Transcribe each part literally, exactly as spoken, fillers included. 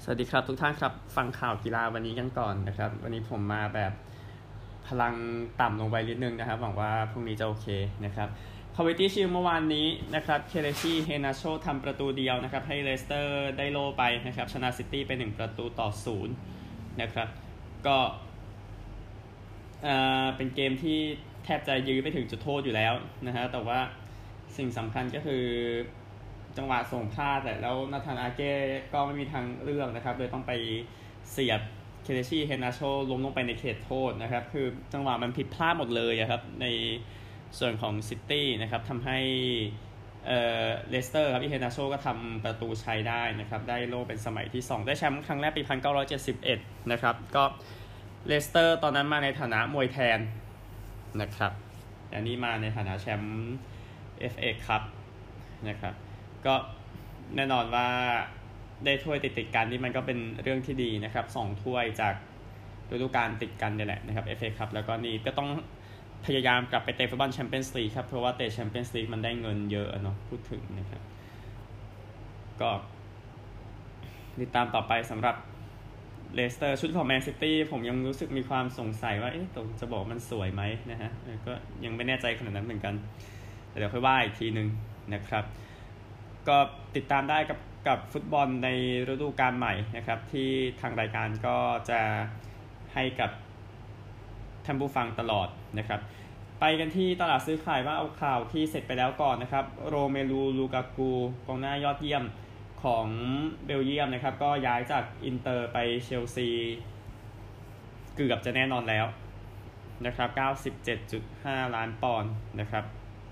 วัสดีครับทุกท่านครับฟังข่าวกีฬาวันนี้กันก่อนนะครับวันนี้ผมมาแบบพลังต่ำลงไปนิดนึงนะครับหวังว่าพรุ่งนี้จะโอเคนะครับคอมมิตี้ชิลเมื่อวานนี้นะครับเคเลชี่เฮนาโชทำประตูเดียวนะครับให้เลสเตอร์ได้โล่ไปนะครับชนะซิตี้ไปหนึ่งประตูต่อศูนย์นะครับก็เอ่อเป็นเกมที่แทบจะยื้อไปถึงจุดโทษอยู่แล้วนะฮะแต่ว่าสิ่งสำคัญก็คือจังหวะส่งพลาดแต่แล้วนาธานอาเก้ก็ไม่มีทางเลือกนะครับเลยต้องไปเสียบเคเลชี่เฮนาโชล้มลงไปในเขตโทษนะครับคือจังหวะมันผิดพลาดหมดเลยครับในส่วนของซิตี้นะครับทำให้เอ่อเลสเตอร์ครับที่เฮนาโชก็ทำประตูชัยได้นะครับได้โล่เป็นสมัยที่สองได้แชมป์ครั้งแรกปีหนึ่งพันเก้าร้อยเจ็ดสิบเอ็ดนะครับก็เลสเตอร์ตอนนั้นมาในฐานะมวยแทนนะครับอันนี้มาในฐานะแชมป์ เอฟ เอ Cup นะครับก็แน่นอนว่าได้ถ้วยติดๆกันนี่มันก็เป็นเรื่องที่ดีนะครับสองถ้วยจากฤดูกาลติดกันนี่แหละนะครับ เอฟ เอ Cup แล้วก็นี่ก็ต้องพยายามกลับไปเตะฟุตบอลแชมเปี้ยนส์ลีกครับเพราะว่าเตะแชมเปี้ยนส์ลีกมันได้เงินเยอะเนาะพูดถึงนะครับก็ติดตามต่อไปสำหรับเลสเตอร์ชุดของแมนซิตี้ผมยังรู้สึกมีความสงสัยว่าเอ๊ะตรงจะบอกมันสวยไหมนะฮะก็ยังไม่แน่ใจขนาดนั้นเหมือนกันแต่เดี๋ยวค่อยว่าอีกทีนึงนะครับก็ติดตามได้กับกับฟุตบอลในฤดูกาลใหม่นะครับที่ทางรายการก็จะให้กับท่านผู้ฟังตลอดนะครับไปกันที่ตลาดซื้อขายว่าเอาข่าวที่เสร็จไปแล้วก่อนนะครับโรเมลูลูกากูกองหน้ายอดเยี่ยมของเบลเยียมนะครับก็ย้ายจากอินเตอร์ไปเชลซีเกือบจะแน่นอนแล้วนะครับ เก้าสิบเจ็ดจุดห้า ล้านปอนด์นะครับ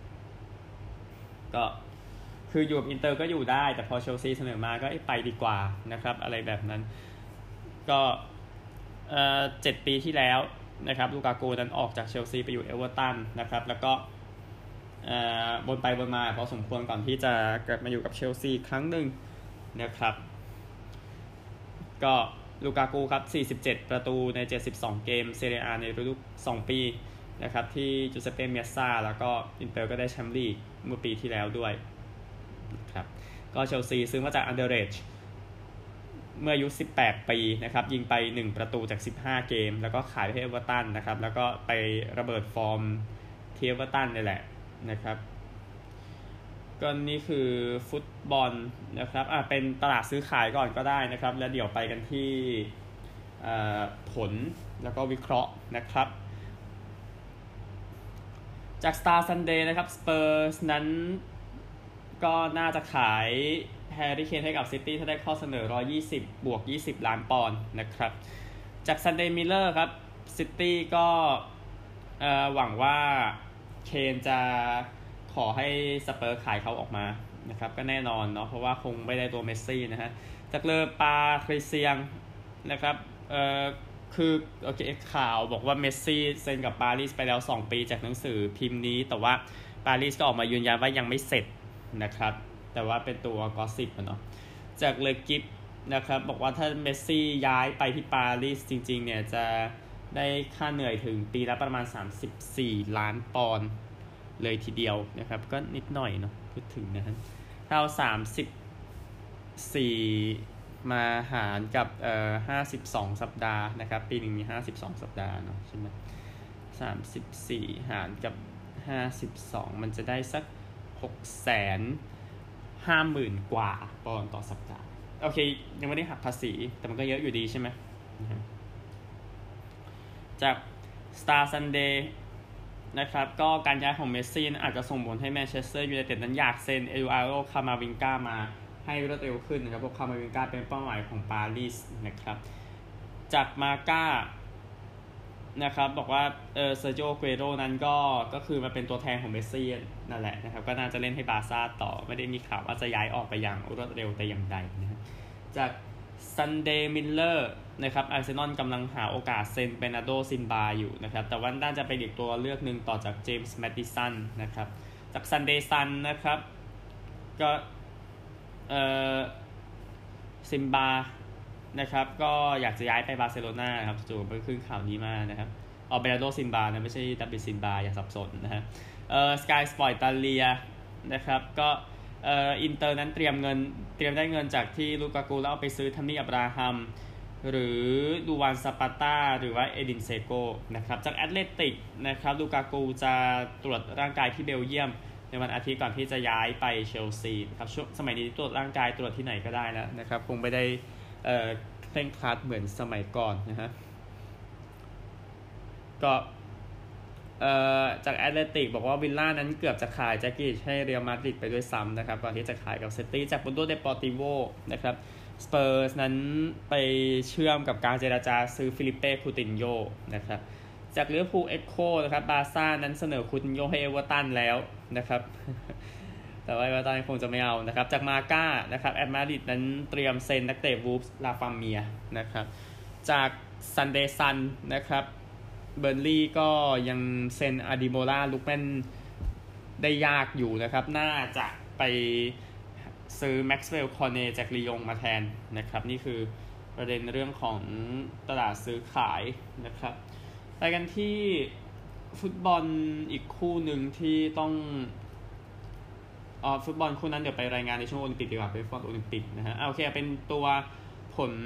ก็คืออยู่กับอินเตอร์ก็อยู่ได้แต่พอเชลซีเสนอมาก็ไปดีกว่านะครับอะไรแบบนั้นก็เอ่อเจ็ดปีที่แล้วนะครับลูกากูนั้นออกจากเชลซีไปอยู่เอเวอร์ตันนะครับแล้วก็เอ่อบนไปบนมาพอสมควรก่อนที่จะกลับมาอยู่กับเชลซีครั้งหนึ่งนะครับก็ลูกากูครับสี่สิบเจ็ดประตูในเจ็ดสิบสองเกมเซเรียอาในฤดูสองปีนะครับที่จูเซเป้เมียซ่าแล้วก็อินเตอร์ก็ได้แชมป์ลีกเมื่อปีที่แล้วด้วยครับก็เชลซีซื้อมาจากอันเดอร์เรจเมื่ออายุสิบแปดปีนะครับยิงไปหนึ่งประตูจากสิบห้าเกมแล้วก็ขายไปให้เอเวอร์ตันนะครับแล้วก็ไประเบิดฟอร์มที่เอเวอร์ตันนี่แหละนะครับก็นี่คือฟุตบอลนะครับอ่ะเป็นตลาดซื้อขายก่อนก็ได้นะครับแล้วเดี๋ยวไปกันที่ผลแล้วก็วิเคราะห์นะครับจาก Star Sunday นะครับ Spurs นั้นก็น่าจะขายแฮร์รี่เคนให้กับซิตี้ถ้าได้ข้อเสนอหนึ่งร้อยยี่สิบบวกยี่สิบล้านปอนด์นะครับจาก Sunday Mirror ครับซิตี้ก็หวังว่าเคนจะขอให้สเปอร์ขายเขาออกมานะครับก็แน่นอนเนาะเพราะว่าคงไม่ได้ตัวเมสซี่นะฮะจากเลอปาคริเซียงนะครับเอ่อคือโอเคข่าวบอกว่าเมสซี่เซ็นกับปารีสไปแล้วสองปีจากหนังสือพิมพ์นี้แต่ว่าปารีสก็ออกมายืนยันว่ายังไม่เสร็จนะครับแต่ว่าเป็นตัวกอสซิปเนาะจากเลกิฟนะครับบอกว่าถ้าเมสซี่ย้ายไปที่ปารีสจริงๆเนี่ยจะได้ค่าเหนื่อยถึงปีละประมาณสามสิบสี่ล้านปอนด์เลยทีเดียวนะครับก็นิดหน่อยเนาะพูดถึงนะฮะถ้าเอาสามสิบสี่มาหารกับเอ่อห้าสิบสองสัปดาห์นะครับปีนึงมีห้าสิบสองสัปดาห์เนาะใช่มั้ยสามสิบสี่หารกับห้าสิบสองมันจะได้สัก หกแสนห้าหมื่น กว่าปอนด์ต่อสัปดาห์โอเคยังไม่ได้หักภาษีแต่มันก็เยอะอยู่ดีใช่มั้ยจาก Star Sundayนะครับก็การย้ายของเมสซี่อาจจะส่งผลให้แมนเชสเตอร์ยูไนเต็ดนั้นอยากเซ็นเอดูอาร์โด คามาวิงกามาให้รวดเร็วขึ้นนะครับเพราะคามาวิงกาเป็นเป้าหมายของปารีสนะครับจากมาก้านะครับบอกว่าเออเซอร์จิโอ เกเรโรนั้นก็ก็คือมาเป็นตัวแทนของเมสซี่นั่นแหละนะครับก็น่าจะเล่นให้บาร์ซ่าต่อไม่ได้มีข่าวว่าจะย้ายออกไปอย่างรวดเร็วแต่อย่างใดนะครับจากซันเดย์มิลเลอร์นะครับอาร์เซนอลกำลังหาโอกาสเซ็นเบนาโดซินบาอยู่นะครับแต่ว่าน่าจะเป็นอีกตัวเลือกหนึ่งต่อจากเจมส์แมดดิสันนะครับจากซันเดย์ซันนะครับก็เอ่อซินบานะครับก็อยากจะย้ายไปบาร์เซโลนาครับจู่ๆไปขึ้นข่าวนี้มานะครับออเบนาโดซินบานะไม่ใช่ดับบิซินบาอย่าสับสนนะฮะเอ่อสกายสปอร์ตอิตาเลียนะครับก็เอ่ออินเตอร์นั้นเตรียมเงินเตรียมได้เงินจากที่ลูกากูแล้วเอาไปซื้อทัมมี่อับราฮัมหรือดูวานซาปาต้าหรือว่าเอดินเซโกนะครับจากแอตเลติกนะครับลูกากูจะตรวจร่างกายที่เบลเยียมในวันอาทิตย์ก่อนที่จะย้ายไปเชลซีครับช่วงสมัยนี้ตรวจร่างกายตรวจที่ไหนก็ได้แล้วนะครับคงไม่ได้เอ่อเคร่งครัดเหมือนสมัยก่อนนะฮะก็เอ่อจากแอตเลติกบอกว่าวิลล่านั้นเกือบจะขายแจ็คกี้ให้เรอัลมาดริดไปด้วยซ้ำนะครับก่อนที่จะขายกับเซตี้จากบุนโดเดปอร์ติโวนะครับสเปอร์สนั้นไปเชื่อมกับการเจรจาซื้อฟิลิปเป้คูตินโญนะครับจากลิเวอร์พูลเอ็กโคนะครับบาร์ซ่านั้นเสนอคูตินโญให้เอเวอร์ตันแล้วนะครับ แต่ว่าเอเวอร์ตันคงจะไม่เอานะครับจากมาก้านะครับแอตมาดริดนั้นเตรียมเซ็นนักเตะวูฟส์ลาฟาเมียนะครับจากซันเดย์ซันนะครับเบอร์นลี่ก็ยังเซ็นอาดิโมลาลูกแมนได้ยากอยู่นะครับน่าจะไปซื้อแม็กซ์เวลล์คอร์เนจากลียงมาแทนนะครับนี่คือประเด็นเรื่องของตลาดซื้อขายนะครับไปกันที่ฟุตบอลอีกคู่หนึ่งที่ต้องอ๋อฟุตบอลคู่นั้นเดี๋ยวไปรายงานในช่วงโอลิมปิกดีกว่าเป็นฟุตบอลโอลิมปิกนะฮะโอเคเป็นตัวผล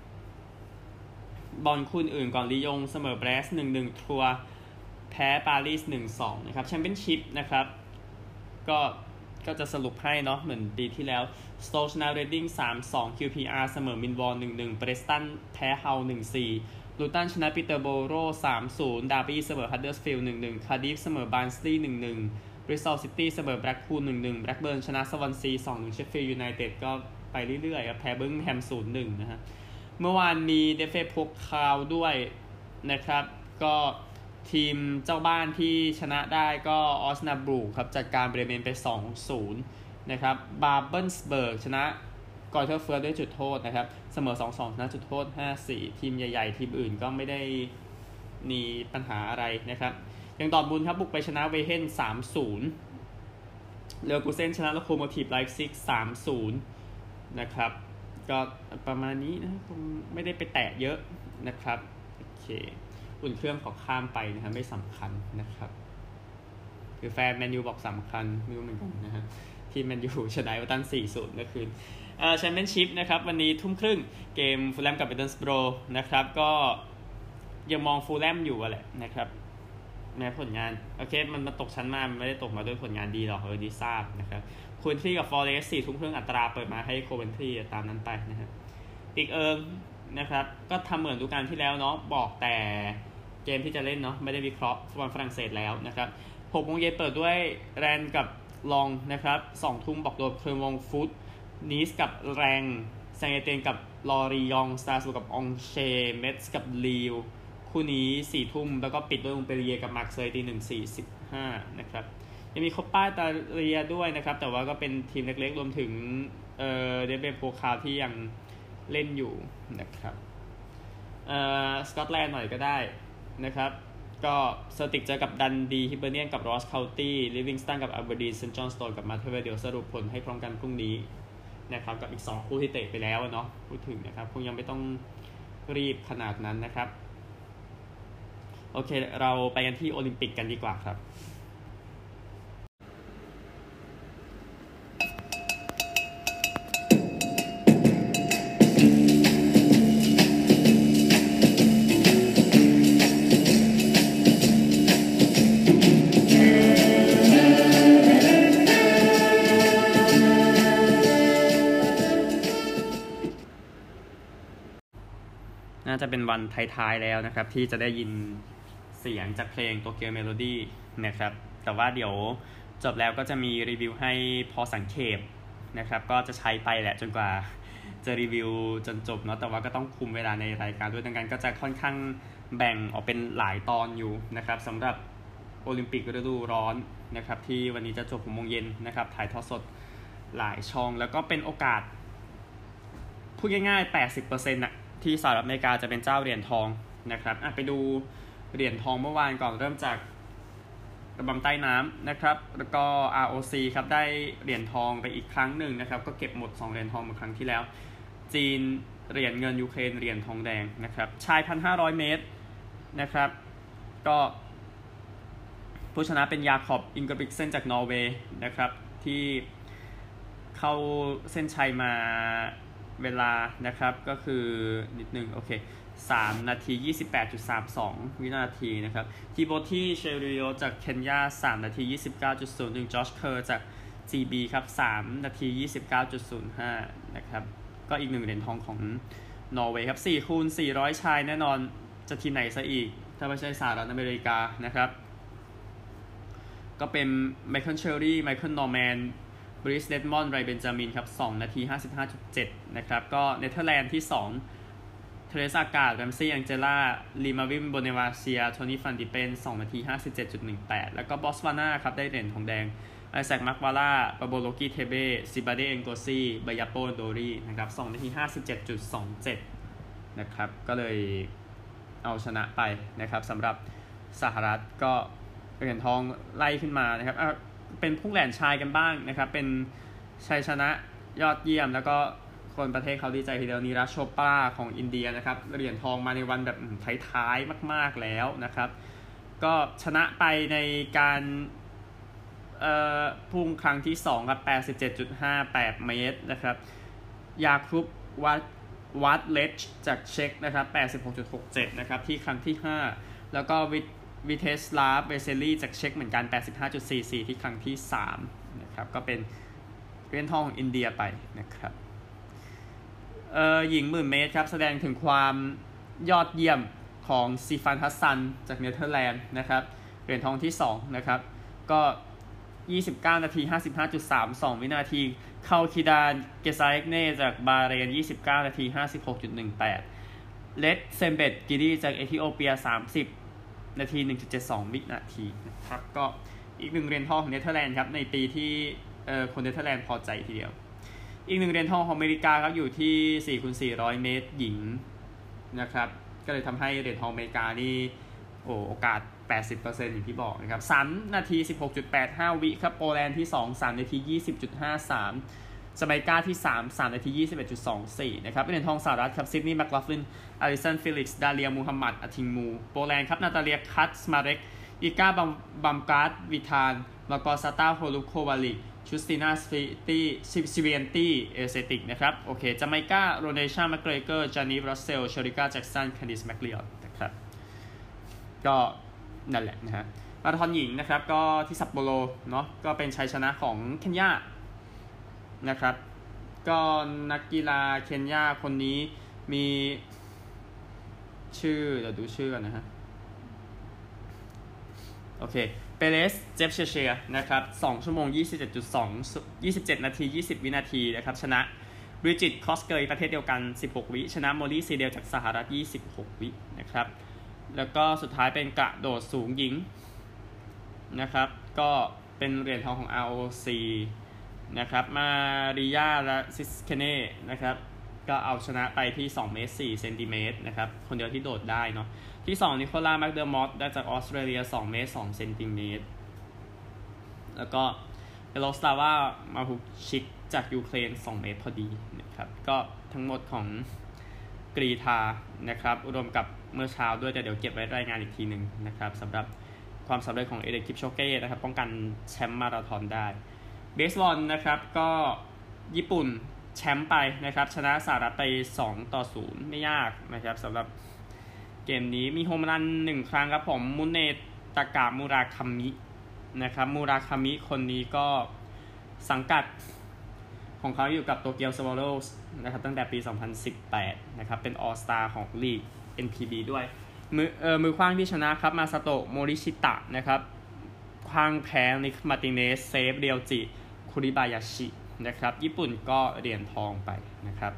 บอลคู่อื่นก่อนลียงเสมอเบรส หนึ่งหนึ่ง ทัวร์แพ้ปารีส หนึ่งสอง นะครับแชมเปี้ยนชิพนะครับก็ก็จะสรุปให้เนาะเหมือนปีที่แล้วสโตชนาเรดดิ้ง สามสอง คิว พี อาร์ เสมอมินวอล หนึ่งหนึ่ง เบรสตันแพ้เฮา หนึ่งสี่ ลูตันชนะปีเตอร์โบโร สามศูนย์ ดาร์บี้เสมอฮัดเดอร์สฟิลด์ หนึ่งหนึ่ง คาร์ดิฟเสมอบาร์นสลีย์ หนึ่งหนึ่ง บริสตอลซิตี้เสมอแบล็กพูล หนึ่งหนึ่ง แบล็กเบิร์นชนะสวอนซี สองหนึ่ง เชฟฟิลด์ยูไนเต็ดก็ไปเรื่อยๆครับแพ้เบิร์มิงแฮม ศูนย์หนึ่ง นะฮะเมื่อวานมีเดฟเฟพกคาวด้วยนะครับก็ทีมเจ้าบ้านที่ชนะได้ก็ออสนาบรูครับจัดการเบรเมนไป สองศูนย์ นะครับบาร์เบิลสเบิร์กชนะกอร์เทอร์เฟิร์สด้วยจุดโทษนะครับเสมอ สองสอง ชนะจุดโทษ ห้าสี่ ทีมใหญ่ๆทีมอื่นก็ไม่ได้มีปัญหาอะไรนะครับอย่างดอร์ทมุนด์ครับบุกไปชนะเวเฮน สามศูนย์ เลเวอร์คูเซ่นชนะโลโคโมทีฟไลฟ์ซิก สามศูนย์ นะครับก็ประมาณนี้นะคงไม่ได้ไปแตะเยอะนะครับโอเคอุ่นเครื่องขอข้ามไปนะครับไม่สำคัญนะครับคือแฟนแมนยูบอกสำคัญไม่รู้เหมือนกันนะฮะที่แมนยูชนะเอเวอร์ตัน สี่ศูนย์ เมื่อคืนเอ่อแชมเปี้ยนชิพนะครับวันนี้ทุ่มครึ่งเกมฟูลแลมกับมิดเดิลสโบรนะครับก็ยังมองฟูลแลมอยู่แหละนะครับแม้ผลงานโอเคมันมาตกชั้นมาไม่ได้ตกมาด้วยผลงานดีหรอกเออดีทราบนะครับคูนทรีกับฟอเรสต์สี่ทุ่มครึ่งอัตราเปิดมาให้โคเวนทรีตามนั้นไปนะฮะอีกเอิงนะครับก็ทำเหมือนดูการที่แล้วเนาะบอกแต่เกมที่จะเล่นเนาะไม่ได้วิเคราะห์ฟุตบอลฝรั่งเศสแล้วนะครับหกโมงเย็นเปิดด้วยแรนกับลองนะครับสองทุ่มบอกโดนเคอร์มองฟุตนีสกับแรงแซงเอเตนกับลอรียองสตาร์สูกับองเชเมทส์กับลีวคู่นี้สี่ทุ่มแล้วก็ปิดด้วยอุงเปรียกับมาร์เซย์ตีหนึ่งสี่สิบห้านะครับยังมีโคปาอิตาเลียด้วยนะครับแต่ว่าก็เป็นทีมเล็กๆรวมถึงเอ่อเดเบโปคาที่ยังเล่นอยู่นะครับเอ่อสกอตแลนด์หน่อยก็ได้นะครับก็เซอร์ติกเจอกับดันดีฮิเบอร์เนียนกับรอสเคานตี้ลิฟวิงสตันกับอัลเบอร์ดีนเซนต์จอห์นสโตนกับมาเทเวเดียวสรุปผลให้พร้อมกันพรุ่งนี้นะครับกับอีกสองคู่ที่เตะไปแล้วเนาะพูดถึงนะครับคงยังไม่ต้องรีบขนาดนั้นนะครับโอเคเราไปกันที่โอลิมปิกกันดีกว่าครับน่าจะเป็นวันท้ายๆแล้วนะครับที่จะได้ยินเสียงจากเพลง Tokyo Melody นะครับแต่ว่าเดี๋ยวจบแล้วก็จะมีรีวิวให้พอสังเขปนะครับก็จะใช้ไปแหละจนกว่าจะรีวิวจนจบเนาะแต่ว่าก็ต้องคุมเวลาในรายการด้วยดังนั้นก็จะค่อนข้างแบ่งออกเป็นหลายตอนอยู่นะครับสำหรับโอลิมปิกฤดูร้อนนะครับที่วันนี้จะจบหกโมงเย็นนะครับถ่ายทอดสดหลายช่องแล้วก็เป็นโอกาสพูดง่ายๆ แปดสิบเปอร์เซ็นต์ น่ะที่สหรัฐอเมริกาจะเป็นเจ้าเหรียญทองนะครับไปดูเหรียญทองเมื่อวานก่อนเริ่มจากระบำใต้น้ำนะครับแล้วก็ อาร์ โอ ซี ครับได้เหรียญทองไปอีกครั้งหนึ่งนะครับก็เก็บหมดสองเหรียญทองเหมือนครั้งที่แล้วจีนเหรียญเงินยูเครนเหรียญทองแดงนะครับชาย หนึ่งพันห้าร้อย เมตรนะครับก็ผู้ชนะเป็นยาคอบอิงเกอร์บิกเซนจากนอร์เวย์นะครับที่เข้าเส้นชัยมาเวลานะครับก็คือนิดนึงโอเคสามนาที ยี่สิบแปดจุดสามสอง วินาทีนะครับทีโบทีเชริโอจากเคนยาสามนาที ยี่สิบเก้าจุดศูนย์หนึ่ง จอชเคอร์จาก จี บี ครับสามนาที ยี่สิบเก้าจุดศูนย์ห้า นะครับก็อีกหนึ่งเหรียญทองของนอร์เวย์ครับสี่คูณสี่ร้อยชายแน่นอนจะทีมไหนซะอีกถ้าไม่ใช่สหรัฐอเมริกานะครับก็เป็นไมเคิลเชอรี่ไมเคิลนอร์แมนบริสเดดมอนด์ไรเบนจามินครับสองนาที ห้าสิบห้าจุดเจ็ด นะครับก็เนเธอร์แลนด์ที่สองเทเรซากาดแรมซี่แองเจล่าลีมาวิมโบเนวาเซียโทนี่ฟันดิเปนสองนาที ห้าสิบเจ็ดจุดหนึ่งแปด แล้วก็บอตสวานาครับได้เหรียญทองแดงไอแซคมักวาล่าปาโบโลกิเทเบซิบาเดเอนโกซีบายาโปโดรีนะครับสองนาที ห้าสิบเจ็ดจุดสองเจ็ด นะครับก็เลยเอาชนะไปนะครับสำหรับสหรัฐก็เหรียญทองไล่ขึ้นมานะครับเป็นพุ่งแหลนชายกันบ้างนะครับเป็นชัยชนะยอดเยี่ยมแล้วก็คนประเทศเขาดีใจทีเดียวนีรัชโชปราของอินเดียนะครับเหรียญทองมาในวันแบบท้ายๆมากๆแล้วนะครับก็ชนะไปในการเอ่อพุ่งครั้งที่สองครับ แปดสิบเจ็ดจุดห้าแปด เมตรนะครับยาคุบวัดวัดเลชจากเช็กนะครับ แปดสิบหกจุดหกเจ็ด นะครับที่ครั้งที่ห้าแล้วก็วิวิเทสลาฟเวเซลีจากเช็กเหมือนกัน แปดสิบห้าจุดสี่สี่ ที่ครั้งที่สามนะครับก็เป็นเหรียญทองของอินเดียไปนะครับเอ่อหญิงหมื่นเมตรครับแสดงถึงความยอดเยี่ยมของซีฟานฮัสซันจากเนเธอร์แลนด์นะครับเหรียญทองที่สองนะครับก็ยี่สิบเก้านาที ห้าสิบห้าจุดสามสอง วินาทีเข้าคิดานเกซาเอกเน่จากบาห์เรนยี่สิบเก้านาที ห้าสิบหกจุดหนึ่งแปด เลดเซมเบตกิดีจากเอธิโอเปียสามสิบนาที หนึ่งจุดเจ็ดสอง วินาทีนะครับก็อีกหนึ่งเหรียญทองของเนเธอร์แลนด์ครับในปีที่เอ่อคนเนเธอร์แลนด์พอใจทีเดียวอีกหนึ่งเหรียญทองของอเมริกาครับอยู่ที่ สี่คูณสี่ร้อย เมตรหญิงนะครับก็เลยทำให้เหรียญทองอเมริกานี่โอ้โอกาส แปดสิบเปอร์เซ็นต์ อย่างที่บอกนะครับสามนาที สิบหกจุดแปดห้า วิครับโปแลนด์ที่สอง สามนาที ยี่สิบจุดห้าสามจาเมกาที่สาม สามนาที ยี่สิบเอ็ดจุดสองสี่ นะครับเหรียญทองสหรัฐครับซิดนีย์แมคลาฟลินอลิสันฟิลิกซ์ดาเลียมูฮัมหมัดอทิงมูโปแลนด์ครับนาตาเลียคัตสมาเร็กอีกาบัมบัมการ์ดวิธานลากอซาตาโฮลุโควาลิกชูสตินาสฟิตี้ซิเวียนตี้เอเซติกนะครับโอเคจาเมกาโรเนชาแมคเกรเกอร์จานีรัสเซลเชอริกาแจ็กสันแคนดิสแมคลีออตนะครับก็นั่นแหละนะฮะมาราธอนหญิงนะครับก็ที่ซัปโปโรเนาะก็เป็นชัยชนะของเคนยานะครับก็นักกีฬาเคนยาคนนี้มีชื่อเดี๋ยวดูชื่อกันนะฮะโอเคเปเรสเจฟเชเชียนะครับสองชั่วโมง ยี่สิบเจ็ดจุดสอง ยี่สิบเจ็ดนาที ยี่สิบ วินาทีนะครับชนะบริจิตคอสเกยประเทศเดียวกันสิบหกวิชนะโมลี่ซีเดลจากสหรัฐยี่สิบหกวินะครับแล้วก็สุดท้ายเป็นกระโดดสูงหญิงนะครับก็เป็นเหรียญทองของ อาร์ โอ ซี นะครับมาริยาและซิสเคเน่นะครับก็เอาชนะไปที่สองเมตรสี่เซนติเมตรนะครับคนเดียวที่โดดได้เนาะที่สองนิโคลาแมคเดอร์มอตได้จากออสเตรเลียสองเมตรสองเซนติเมตรแล้วก็เอโลสตาวามาฮุชิกจากยูเครนสองเมตรพอดีนะครับก็ทั้งหมดของกรีธานะครับรวมกับเมื่อเช้าด้วยแต่เดี๋ยวเก็บไว้รายงานอีกทีนึงนะครับสำหรับความสำเร็จของเอเดคิปโชเก้นะครับป้องกันแชมป์มาราธอนได้เบสบอลนะครับก็ญี่ปุ่นแชมป์ไปนะครับชนะสหรัฐไปสองต่อศูนย์ไม่ยากนะครับสำหรับเกมนี้มีโฮมรันหนึ่งครั้งครับผมมุเนตากะมูราคามินะครับมูราคามิคนนี้ก็สังกัดของเขาอยู่กับโตเกียวสวอลโลว์นะครับตั้งแต่ปีสองพันสิบแปดนะครับเป็นออลสตาร์ของลีก เอ็น พี บี ด้วยมือเอ่อมือขว้างที่ชนะครับมาซาโตะโมริชิตะนะครับขว้างแพ้นิคมาติเนสเซฟเรียวจิคุริบายาชินะครับญี่ปุ่นก็เหรียญทองไปนะครับ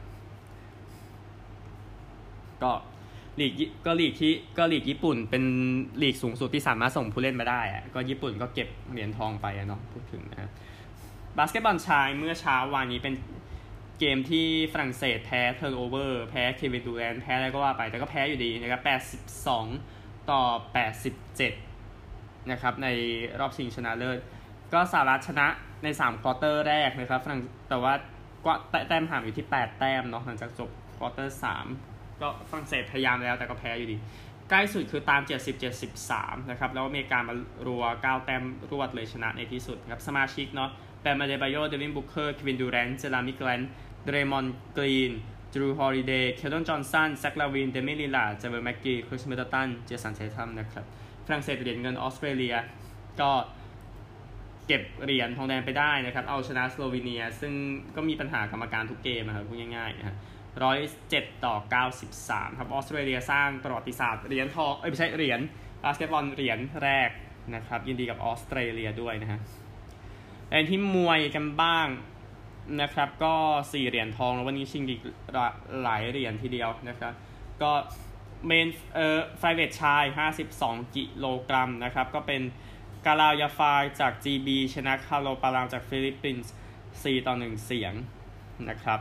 ก็ลีกก็ลีกที่ก็ลีกญี่ปุ่นเป็นลีกสูงสุดที่สามารถส่งผู้เล่นมาได้อะก็ญี่ปุ่นก็เก็บเหรียญทองไปเนาะพูดถึงนะบาสเกตบอลชายเมื่อเช้าวานนี้เป็นเกมที่ฝรั่งเศสแพ้เทิร์นโอเวอร์แพ้เควินดูแรนท์แพ้อะไรก็ว่าไปแต่ก็แพ้อยู่ดีนะครับแปดสิบสองต่อแปดสิบเจ็ดนะครับในรอบชิงชนะเลิศก็สหรัฐชนะในสามควอเตอร์แรกนะครับฝรั่งแต่ว่าก็แต้มห่างอยู่ที่แปดแต้มเนาะหลังจากจบควอเตอร์สามก็ฝรั่งเศสพยายามแล้วแต่ก็แพ้อยู่ดีใกล้สุดคือตามเจ็ดสิบ เจ็ดสิบสามนะครับแล้วอเมริกามารัวเก้าแต้มรวดเลยชนะในที่สุดครับสมาชิกเนาะแบม อเดบาโย เดวิน บุคเคอร์ เควิน ดูแรนต์ เจรามิ แกรนท์ เดรมอนด์ กรีน ดรู ฮอลิเดย์ เคลตัน จอห์นสัน แซค ลาวิน เดมิ ลิลลาร์ด เจเวอร์ แม็กกี้ คริส มิดเดิลตัน เจสัน เททัมนะครับฝรั่งเศสเหรียญเงินออสเตรเลียก็เก็บเหรียญทองแดงไปได้นะครับเอาชนะสโลวีเนียซึ่งก็มีปัญหากรรมการทุกเกมนะครับพูดง่ายๆนะฮะหนึ่งร้อยเจ็ดต่อเก้าสิบสามครับออสเตรเลียสร้างประวัติศาสตร์เหรียญทองเอ้ยไม่ใช่เหรียญบาสเกตบอลเหรียญแรกนะครับยินดีกับออสเตรเลียด้วยนะฮะในที่มวยกันบ้างนะครับก็สี่เหรียญทองแล้ววันนี้ชิงอีกหลายเหรียญทีเดียวนะครับก็เมนเอ่อไฟเวทชายห้าสิบสองกิโลกรัมนะครับก็เป็นกาลายาฟายจาก จี บี ชนะคาโลปารางจากฟิลิปปินส์สี่ต่อหนึ่งเสียงนะครับ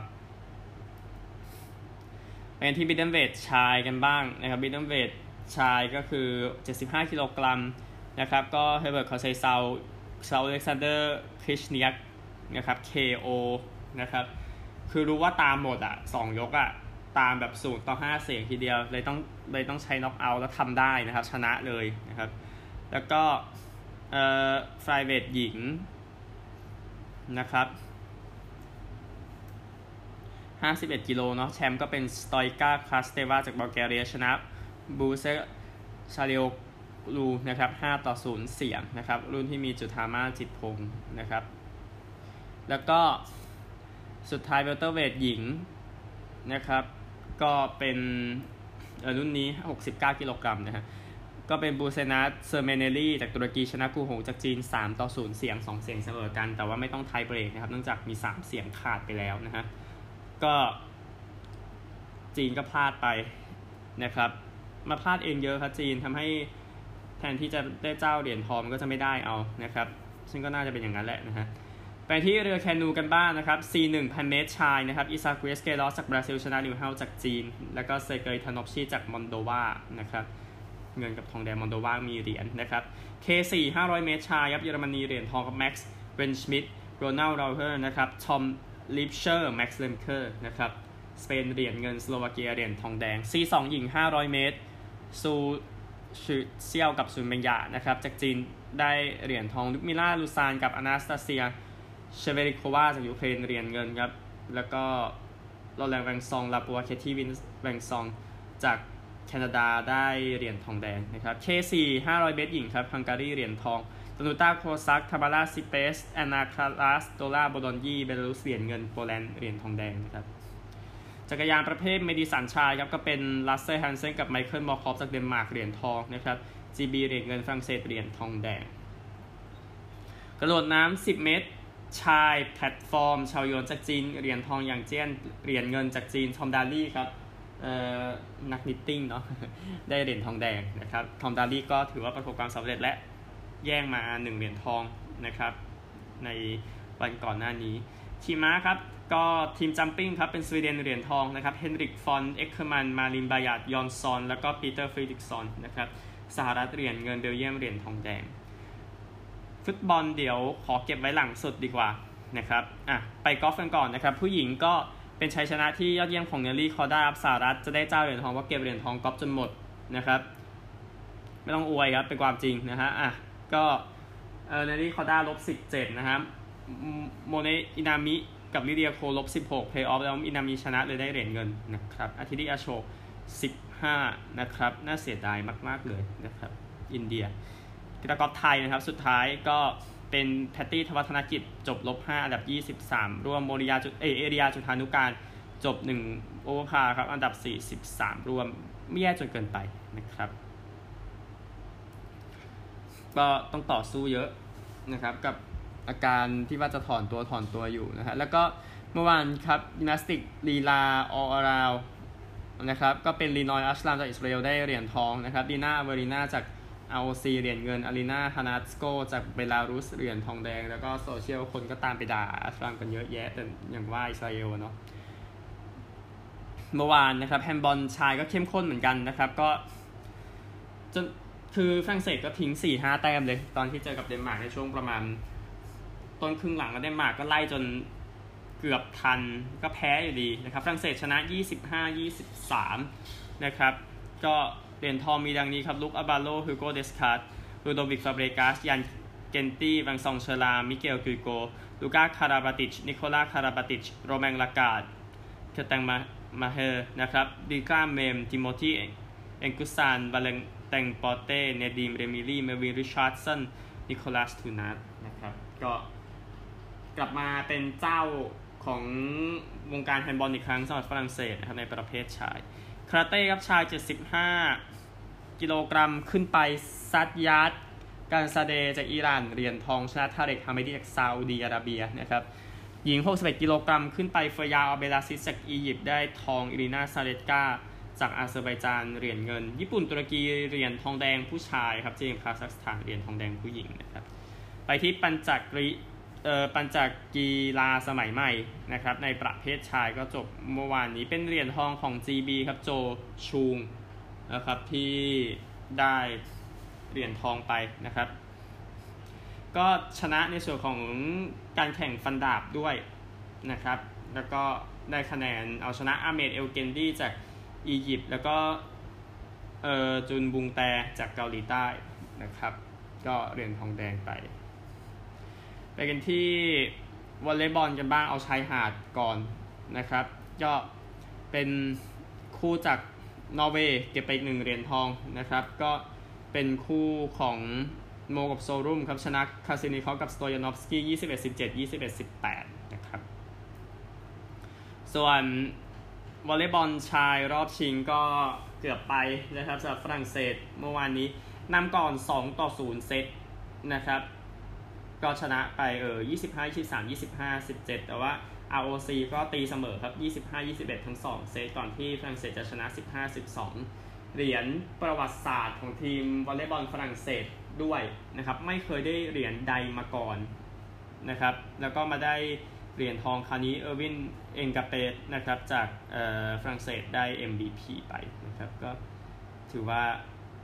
เป็นที่มิดเดิลเวทชายกันบ้างนะครับมิดเดิลเวทชายก็คือเจ็ดสิบห้ากิโลกรัมนะครับก็เฮเบิร์ต คอเซซาวซาอเล็กซานเดอร์คริชเนียกนะครับ เค โอ นะครับคือรู้ว่าตามหมดอ่ะสองยกอ่ะตามแบบศูนย์ต่อห้าเสียงทีเดียวเลยต้องเลยต้องใช้น็อกเอาท์แล้วทำได้นะครับชนะเลยนะครับแล้วก็เอ่อไฟเวทหญิงนะครับห้าสิบเอ็ดกิโลเนาะแชมป์ก็เป็นสตอยกาคลาสเตวาจากบัลแกเรียชนะบูเซชาเลียลูนะครับห้าต่อศูนย์เสียงนะครับรุ่นที่มีจุธามาจิตพงศ์นะครับแล้วก็สุดท้ายเวลเตอร์เวทหญิงนะครับก็เป็นรุ่นนี้หกสิบเก้ากิโลกรัมนะฮะก็เป็นบูเซนัสเซอร์เมเนลี่จากตุรกีชนะกูหงจากจีนสามต่อศูนย์เสียงสองเสียงเสมอกันแต่ว่าไม่ต้องไทยเบรกนะครับเนื่องจากมีสามเสียงขาดไปแล้วนะฮะก็จีนก็พลาดไปนะครับมาพลาดเองเยอะครับจีนทำให้แทนที่จะได้เจ้าเหรียญทองก็จะไม่ได้เอานะครับซึ่งก็น่าจะเป็นอย่างนั้นแหละนะฮะไปที่เรือแคนูกันบ้างนะครับ ซี หนึ่งพัน เมตรชายนะครับอิซากุเอสเกลอสจากบราซิลชนะนิวเฮลจากจีนแล้วก็เซเกยทานอฟชีจากมอนโดวานะครับเงินกับทองแดงมอนโดวามีเหรียญนะครับ เค สี่ ห้าร้อยเมตรชายครับเยอรมนีเหรียญทองกับแม็กซ์เวนชมิดโรนัลด์ ราเฮอร์นะครับทอมลิปเชอร์ แม็กซ์ เลมเคอร์นะครับสเปนเหรียญเงินสโลวาเกียเหรียญทองแดง ซี สอง หญิงห้าร้อยเมตรซูชื่อเซียวกับซุนเบงยานะครับจากจีนได้เหรียญทองลุมิล่าลูซานกับอนาสตาเซียเชเวริโควาจากยูเครนเหรียญเงินครับแล้วก็ลอแรนแวงซองลาปัวเคที่วินแวงซองจากแคนาดาได้เหรียญทองแดงนะครับ เค สี่ ห้าร้อยเมตรหญิงครับฮังการีเหรียญทองตนูต้าโคซักทาบาร่าซิเปสแอนนาคาลัสโดลาโบดอนยีเบลารุสเหรียญเงินโปแลนด์เหรียญทองแดงนะครับจักรยานประเภทเมดิสันชายครับก็เป็นลัสเซอร์ฮันเซนกับไมเคิลมอร์คอฟจากเดนมาร์กเหรียญทองนะครับ จี บี เหรียญเงินฝรั่งเศสเหรียญทองแดงกระโดดน้ำสิบเมตรชายแพลตฟอร์มชาวโยนจากจีนเหรียญทองอย่างเจี้ยนเหรียญเงินจากจีนทอมดาลี่ครับนักนิตติ้งเนาะได้เหรียญทองแดงนะครับทอมดาลี่ก็ถือว่าประสบความสำเร็จและแย่งมาหนึ่งเหรียญทองนะครับในวันก่อนหน้านี้ขี่ม้าครับก็ทีมจัมปิ้งครับเป็นสวีเดนเหรียญทองนะครับเฮนริกฟอนเอ็กเคอร์มันมาลินบายาดยอนซอนแล้วก็ปีเตอร์ฟรีดิกซอนนะครับสหรัฐเหรียญเงินเบลเยียมเหรียญทองแดงฟุตบอลเดี๋ยวขอเก็บไว้หลังสุดดีกว่านะครับอ่ะไปกอล์ฟกันก่อนนะครับผู้หญิงก็เป็นชัยชนะที่ยอดเยี่ยมของเนลลี่คอร์ด้าสหรัฐจะได้เจ้าเหรียญทองเพราะเก็บเหรียญทองกอล์ฟจนหมดนะครับไม่ต้องอวยครับเป็นความจริงนะฮะอ่ะก็เออเนลลี่คอร์ด้าลบสิบเจ็ดนะครับโมเนอินามิกับลิเดียโคลบสิบหกเพย์ออฟแล้วอินามิชนะเลยได้เหรียญเงินนะครับอาทิตย์อาโชสิบห้านะครับน่าเสียดายมากๆเลยนะครับอินเดียกีฬากอล์ฟไทยนะครับสุดท้ายก็เป็นแพตตี้ธวัฒนกิจจบลบห้าอันดับยี่สิบสามร่วมโมริยาจุเอเอเรียจุธานุการจบหนึ่งโอเวอร์พาร์ครับอันดับสี่สิบสามรวมไม่แย่จนเกินไปนะครับก็ต้องต่อสู้เยอะนะครับกับอาการที่ว่าจะถอนตัวถอนตัวอยู่นะฮะแล้วก็เมื่อวานครับยิมนาสติกลีลาออราวนะครับก็เป็นลีนอยอัชลามจากอิสราเอลได้เหรียญทองนะครับดีน่าเวอรีนาจาก อาร์ โอ ซี เหรียญเงินอารีนาฮานาสโกจากเบลารุสเหรียญทองแดงแล้วก็โซเชียลคนก็ตามไปด่าอัชลามกันเยอะแยะแต่อย่างว่าอิสราเอลเนาะเมื่อวานนะครับแฮนด์บอลชายก็เข้มข้นเหมือนกันนะครับก็จนคือฝรั่งเศสก็ทิ้ง สี่ห้า แต้มเลยตอนที่เจอกับเดนมาร์กในช่วงประมาณต้นครึ่งหลังก็เดนมาร์กก็ไล่จนเกือบทันก็แพ้อยู่ดีนะครับฝรั่งเศสชนะยี่สิบห้า ยี่สิบสามนะครับก็เหรียญทองมีดังนี้ครับลุคอาบาโลฮูโกเดสคาร์ดลูโดวิกฟาเบรกัสยันเกนตี้วังซองเชลามิเกลกุยโกลูก้าคาราบาติชนิโคลาคาราบาติชโรแมงลากาดเคตังมามาเฮนะครับดิกาเมมติโมธีเอ็นกุซานบาเลงแตงปอเต้เนดีมเรมิลี่เมวินริชาร์ดสันนิโคลัสทูนัสนะครับก็กลับมาเป็นเจ้าของวงการแฮนด์บอลอีกครั้งสำหรับฝรั่งเศสนะครับในประเภทชายคาราเต้ครับชายเจ็ดสิบห้ากิโลกรัมขึ้นไปซัดยัดการซาเดจากอิหร่านเหรียญทองชนะทาเร็กฮามิดีจากซาอุดีอาระเบียนะครับหญิงหกสิบเอ็ดกิโลกรัมขึ้นไปเฟยาอัลเบลาซิสจากอียิปต์ได้ทองอิรินาซาเลตกาจากอาเซอร์ไบจานเหรียญเงินญี่ปุ่นตุรกีเหรียญทองแดงผู้ชายครับจีนคาซัคสถานเหรียญทองแดงผู้หญิงนะครับไปที่ปัญจกรีเอ่อปัญจกีฬาสมัยใหม่นะครับในประเภทชายก็จบเมื่อวานนี้เป็นเหรียญทองของ จี บี ครับโจชูงนะครับที่ได้เหรียญทองไปนะครับก็ชนะในส่วนของการแข่งฟันดาบด้วยนะครับแล้วก็ได้คะแนนเอาชนะอาเมดเอลเกนดีจากอียิปต์แล้วก็เอ่อจุนบุงแตจากเกาหลีใต้นะครับก็เหรียญทองแดงไปไปกันที่วอลเลย์บอลกันบ้างเอาชายหาดก่อนนะครับก็เป็นคู่จากนอร์เวย์เก็บไปอีกหนึ่งเหรียญทองนะครับก็เป็นคู่ของโมกับโซรุมครับชนะคาซินิคอฟกับสโตยานอฟสกี้ยี่สิบเอ็ด สิบเจ็ด ยี่สิบเอ็ด สิบแปดนะครับส่วนวอลเลย์บอลชายรอบชิงก็เกือบไปนะครับสำหรับฝรั่งเศสเมื่อวานนี้นำก่อนสองต่อศูนย์เซตนะครับก็ชนะไปเออยี่สิบห้า ยี่สิบสาม ยี่สิบห้า สิบเจ็ดแต่ว่า อาร์ โอ ซี ก็ตีเสมอครับยี่สิบห้า ยี่สิบเอ็ดทั้งสองเซตก่อนที่ฝรั่งเศสจะชนะสิบห้า สิบสองเหรียญประวัติศาสตร์ของทีมวอลเลย์บอลฝรั่งเศสด้วยนะครับไม่เคยได้เหรียญใดมาก่อนนะครับแล้วก็มาได้เหรียญทองคราวนี้เออร์วินเอ็นกาเปสนะครับจากเอ่อฝรั่งเศสได้ เอ็ม วี พี ไปนะครับก็ถือว่า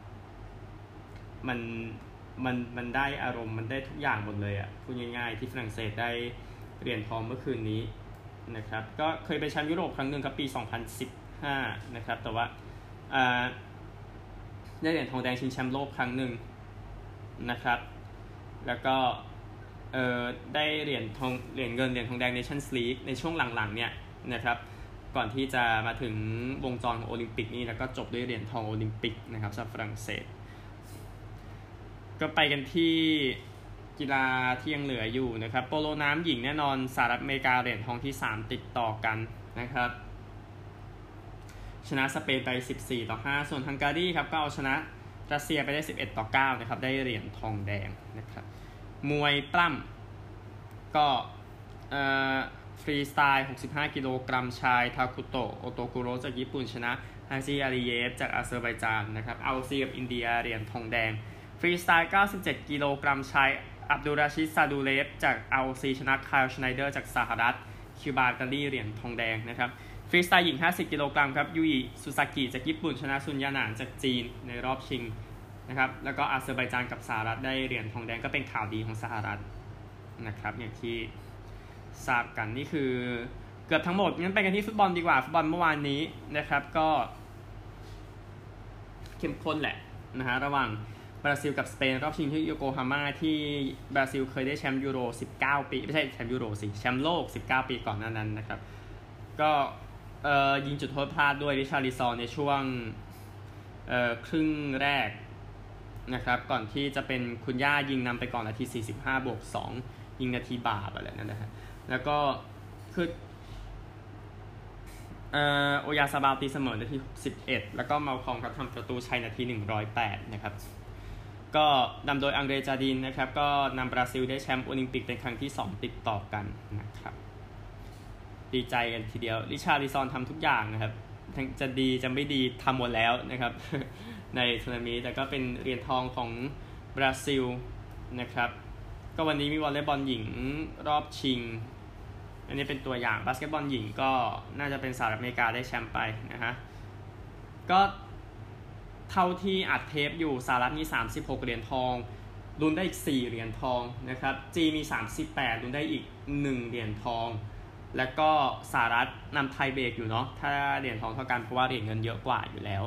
มันมันมันได้อารมณ์มันได้ทุกอย่างหมดเลยอ่ะพูดง่ายๆที่ฝรั่งเศสได้เหรียญทองเมื่อคืนนี้นะครับก็เคยไปแชมป์ยุโรปครั้งหนึ่งครับปีสองพันสิบห้านะครับแต่ว่าอ่าได้เหรียญทองแดงชิงแชมป์โลกครั้งหนึ่งนะครับแล้วก็เอ่อได้เหรียญทองเหรียญเงินเหรียญทองแดง Nations League ในช่วงหลังๆเนี่ยนะครับก่อนที่จะมาถึงวงจรของโอลิมปิกนี่แล้วก็จบด้วยเหรียญทองโอลิมปิกนะครับสำหรับฝรั่งเศสก็ไปกันที่กีฬาที่ยังเหลืออยู่นะครับโปโลน้ำหญิงแน่นอนสหรัฐอเมริกาเหรียญทองที่สามติดต่อกันนะครับชนะสเปนไปสิบสี่ต่อห้าส่วนฮังการีครับก็เอาชนะรัสเซียไปได้สิบเอ็ดต่อเก้านะครับได้เหรียญทองแดงนะครับมวยปล้ำก็เอ่อฟรีสไตล์หกสิบห้ากิโลกรัมชายทาคุโตะโอโตกุโรจากญี่ปุ่นชนะฮาซิอาริเยฟจากอาเซอร์ไบจานนะครับเอาซีกับอินเดียเหรียญทองแดงฟรีสไตล์เก้าสิบเจ็ดกิโลกรัมชายอับดุลราชิดซาดูเลฟจาก อาร์ โอ ซี ชนะคาร์ลชไนเดอร์จากสหรัฐคิวบาตาลีเหรียญทองแดงนะครับฟรีสไตล์หญิงห้าสิบกิโลกรัมครับยูอิซูซากิจากญี่ปุ่นชนะซุนยาหนานจากจีนในรอบชิงนะครับแล้วก็อาเซอร์ไบจานกับสหรัฐได้เหรียญทองแดงก็เป็นข่าวดีของสหรัฐนะครับอย่างที่ทราบกันนี่คือเกือบทั้งหมดงั้นไปกันที่ฟุตบอลดีกว่าฟุตบอลเมื่อวานนี้นะครับก็เข้มข้นแหละนะฮะระหว่างบราซิลกับสเปนรอบชิงที่โยโกฮาม่าที่บราซิลเคยได้แชมป์ยูโรสิบเก้าปีไม่ใช่แชมป์ยูโรสิแชมป์โลกสิบเก้าปีก่อนหน้านั้นนะครับก็เอ่อยิงจุดโทษพลาดด้วยริชาร์ลิซอนในช่วงเอ่อครึ่งแรกนะครับก่อนที่จะเป็นคุณย่ายิงนำไปก่อนนาทีสี่สิบห้าบวกสองยิงนาทีบาปอะไรนั่นนะฮะแล้วก็คือเอ่อโอยาซาบาลตีเสมอนาทีสิบเอ็ดแล้วก็เมาคอมครับทำประตูชัยนาทีหนึ่งร้อยแปดนะครับก็นำโดยอังเดรจาดินนะครับก็นำบราซิลได้แชมป์โอลิมปิกเป็นครั้งที่สองติดต่อกันนะครับดีใจกันทีเดียวริชาร์ลิซอนทำทุกอย่างนะครับจะดีจะไม่ดีทำหมดแล้วนะครับในทัวร์นาเมนต์แต่ก็เป็นเหรียญทองของบราซิลนะครับก็วันนี้มีวอลเลย์บอลหญิงรอบชิงอันนี้เป็นตัวอย่างบาสเกตบอลหญิงก็น่าจะเป็นสหรัฐอเมริกาได้แชมป์ไปนะฮะก็เท่าที่อัดเทปอยู่สหรัฐมีสามสิบหกเหรียญทองลุ้นได้อีกสี่เหรียญทองนะครับจีนมีสามสิบแปดลุ้นได้อีกหนึ่งเหรียญทองแล้วก็สหรัฐนำไทยเบรกอยู่เนาะถ้าเหรียญทองเท่ากันเพราะว่าเหรียญเงินเยอะกว่าอยู่แล้ว